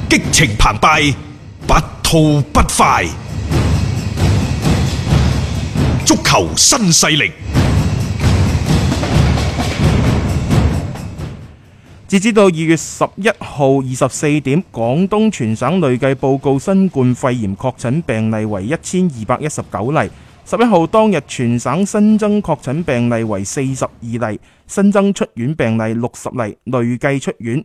激情澎湃，不吐不快。足球新勢力。 截止到2月11號24點，廣東全省累計報告新冠肺炎確診病例為1219例。11號當日全省新增確診病例為42例，新增出院病例60例，累計出院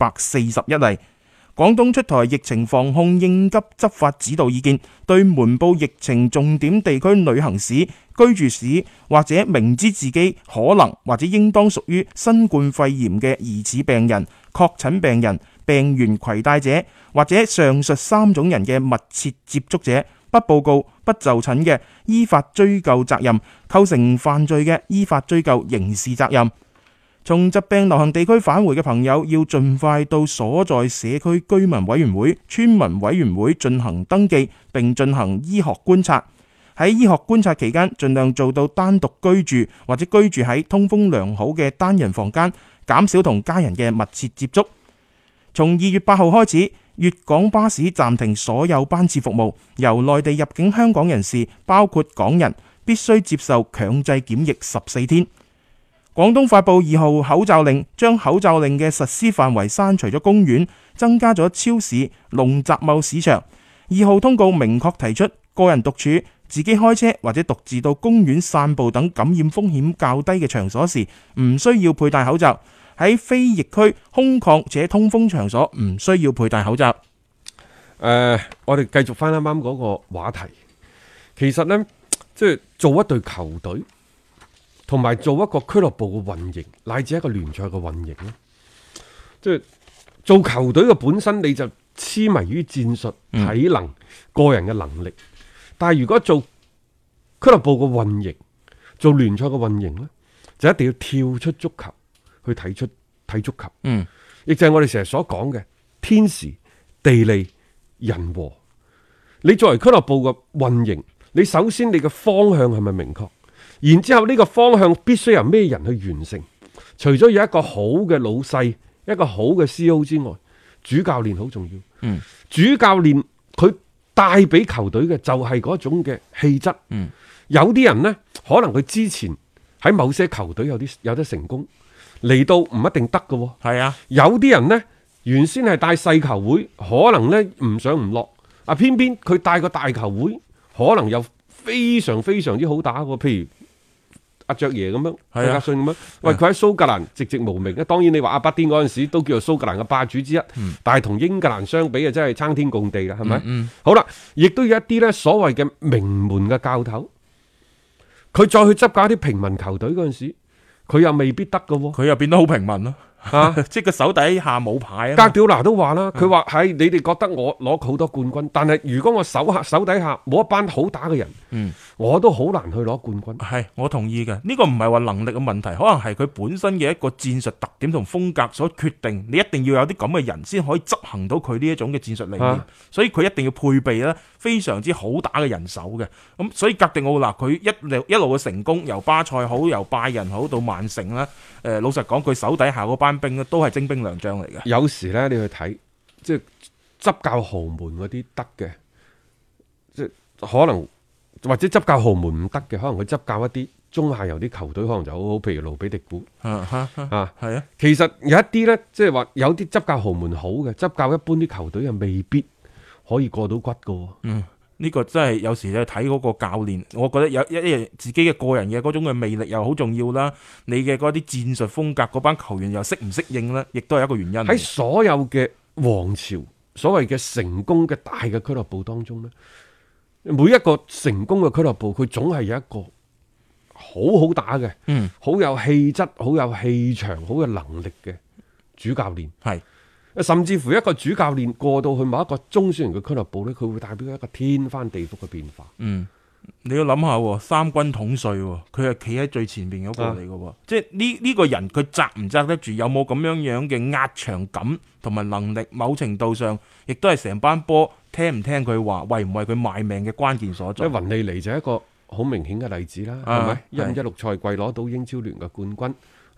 241例。廣東出台疫情防控應急執法指導意見，對瞞報疫情重點地區旅行史、居住史或者明知自己可能或者應當屬於新冠肺炎嘅疑似病人、確診病人、病原攜帶者或者上述3種人嘅密切接觸者，不報告、不就診嘅，依法追究責任；構成犯罪嘅，依法追究刑事責任。從疾病流行地區返回嘅朋友，要盡快到所在社區居民委員會、村民委員會進行登記，並進行醫學觀察。喺醫學觀察期間，盡量做到單獨居住或者居住喺通風良好嘅單人房間，減少同家人嘅密切接觸。從2月8號開始，粵港巴士暫停所有班次服務，由內地入境香港人士，包括港人，必須接受強制檢疫14天。廣東發布2號口罩令，將口罩令嘅實施範圍刪除咗公園，增加咗超市、農集貿市場。2號通告明確提出，個人獨處、自己開車或者獨自到公園散步等感染風險較低嘅場所時，唔需要佩戴口罩。喺非疫區空曠且通風場所，唔需要佩戴口罩。 我哋繼續翻啱啱嗰個話題。其實呢，即係做一隊球隊，同埋做一個俱樂部嘅運營，乃至一個聯賽嘅運營咧，即係做球隊嘅本身，你就痴迷於戰術、體能、個人嘅能力。但係如果做俱樂部嘅運營，做聯賽嘅運營呢，就一定要跳出足球去睇足球。亦就係我哋成日所講嘅天時、地利、人和。你作為俱樂部嘅運營，你首先你嘅方向係咪明確？然之後呢個方向必須由咩人去完成？除咗有一個好嘅老細、一個好嘅 CEO 之外，主教練好重要。主教練佢帶俾球隊嘅就係嗰種嘅氣質。有啲人呢，可能佢之前喺某些球隊有得成功，嚟到唔一定得嘅。 係啊， 有啲人呢，原先係帶細球會，可能呢唔上唔落，偏偏佢帶個大球會，可能又非常非常之好打嘅。譬如阿爵爺咁樣，阿格遜咁樣，喂，佢喺蘇格蘭寂寂無名。當然你話阿巴甸嗰陣時都叫做蘇格蘭嘅霸主之一，但係同英格蘭相比啊，真係撐天共地啦，係咪？好啦，亦都有一啲呢所謂嘅名門嘅教頭，佢再去執教一啲平民球隊嗰陣時，佢又未必得㗎， 佢又變得好平民咯。即係個手底下冇牌啊！ 哥迪奧拿都話啦，佢話係你哋覺得我攞好多冠軍，但係如果我手底下冇一班好打嘅人，我都好難去攞冠軍。 係，我同意嘅。呢個唔係話能力嘅問題，可能係佢本身嘅一個戰術特點同風格所決定。你一定要有啲咁嘅人先可以執行到佢呢一種嘅戰術理念，所以佢一定要配備咧非常之好打嘅人手嘅。咁所以哥迪奧拿佢一路嘅成功，由巴塞好，由拜仁好到曼城啦。老實講，佢手底下嗰班兵都係精兵良將嚟嘅。 有時咧，你去睇即係執教豪門嗰啲得嘅，即係可能或者執教豪門唔得嘅，可能佢執教一啲中下游啲球隊，可能就好好，譬如盧比迪古係啊。其實有一啲咧，即係話有啲執教豪門好嘅，執教一般啲球隊又未必可以過到骨噶。 呢個真係有時你睇嗰個教練，我覺得有一樣自己嘅個人嘅嗰種嘅魅力又好重要啦。你嘅嗰啲戰術風格，嗰班球員又適唔適應呢？亦都係一個原因。 喺所有嘅王朝，所謂嘅成功嘅大嘅俱樂部當中呢，每一個成功嘅俱樂部，佢總係有一個好好打嘅，好有氣質、好有氣場、好有能力嘅主教練。係。甚至乎一個主教練過到去某一個中小型嘅俱樂部呢，佢會代表一個天翻地覆嘅變化。 你要諗下，三軍統帥，佢係企喺最前面嗰個嚟嘅，即係呢個人佢揸唔揸得住，有冇咁樣嘅壓場感同埋能力，某程度上亦都係成班波聽唔聽佢話，為唔為佢賣命嘅關鍵所在。 雲利尼就係一個好明顯嘅例子啦，係咪？15-16賽季攞到英超聯嘅冠軍啊！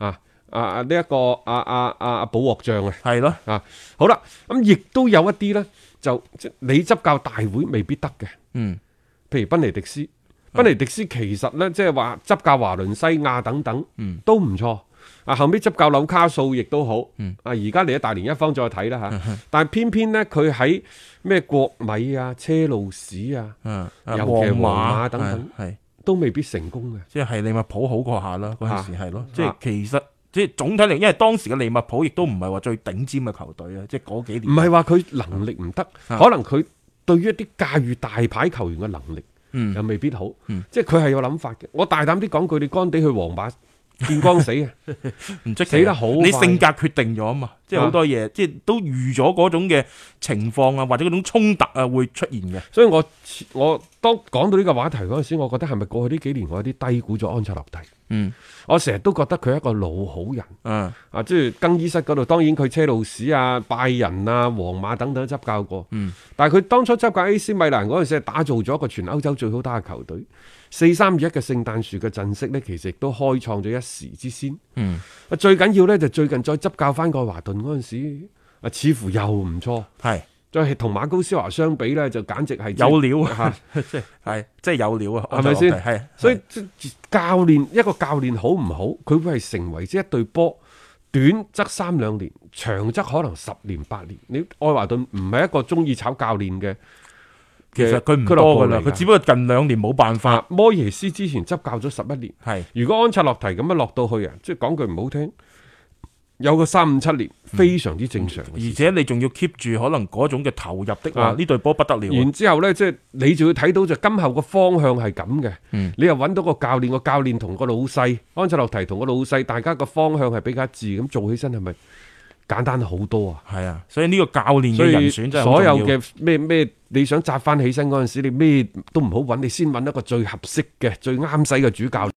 呢一個保鑊將啊， 係咯， 好啦，咁亦都有一啲咧，就你執教大會未必得嘅，譬如賓尼迪斯，賓尼迪斯其實咧即係話執教華倫西亞等等，都唔錯。後尾執教紐卡素亦都好，而家嚟咗大連一方再睇啦嚇，但係偏偏咧佢喺咩國米啊、車路士啊，尤其係皇馬等等，都未必成功嘅。 即係利物浦好過下啦，嗰陣時係咯，即係其實即係總體嚟，因為當時嘅利物浦亦都唔係話最頂尖嘅球隊啊，即係嗰幾年。 唔係話佢能力唔得，可能佢對於一啲駕馭大牌球員嘅能力，又未必好。即係佢係有諗法嘅。我大膽啲講句，你干地去皇馬。見光死嘅， 唔出奇死得好， 你性格決定咗啊嘛，即係好多嘢，即係都預咗嗰種嘅情況啊，或者嗰種衝突啊會出現嘅。 所以我當講到呢個話題嗰陣時，我覺得係咪過去呢幾年我有啲低估咗安切洛蒂？我成日都覺得佢係一個老好人。即係更衣室嗰度，當然佢車路士啊、拜仁啊、皇馬等等都執教過。但係佢當初執教 AC 米蘭嗰陣時，係打造咗一個全歐洲最好打嘅球隊。4-3-2-1嘅聖誕樹嘅陣式呢，其實亦都開創咗一時之先。最緊要呢，就最近再執教翻愛華頓嗰陣時，似乎又唔錯。係，再係同馬高斯華相比呢，就簡直係有料啊！即係有料啊！ 係咪先？ 係， 所以一個教練好唔好，佢會係成為一隊波，短則3-2年，長則可能10年8年。你愛華頓唔係一個中意炒教練嘅。 其實佢唔多噶啦，佢只不過近2年冇辦法。 摩耶斯之前執教咗11年， 係如果安察洛提咁樣落到去啊，即係講句唔好聽，有個3-5-7年非常之正常。 而且你仲要 keep 住可能嗰種嘅投入的話，呢隊波不得了。 然之後呢，即係你就要睇到就今後個方向係咁嘅。你又揾到個教練，個教練同個老細安察洛提同個老細，大家個方向係比較一致，咁做起身係咪簡單好多啊？ 係啊，所以呢個教練嘅人選真係好重要。 所有嘅咩你想扎翻起身嗰陣時，你咩都唔好揾，你先揾一個最合適嘅、最啱使嘅主教練。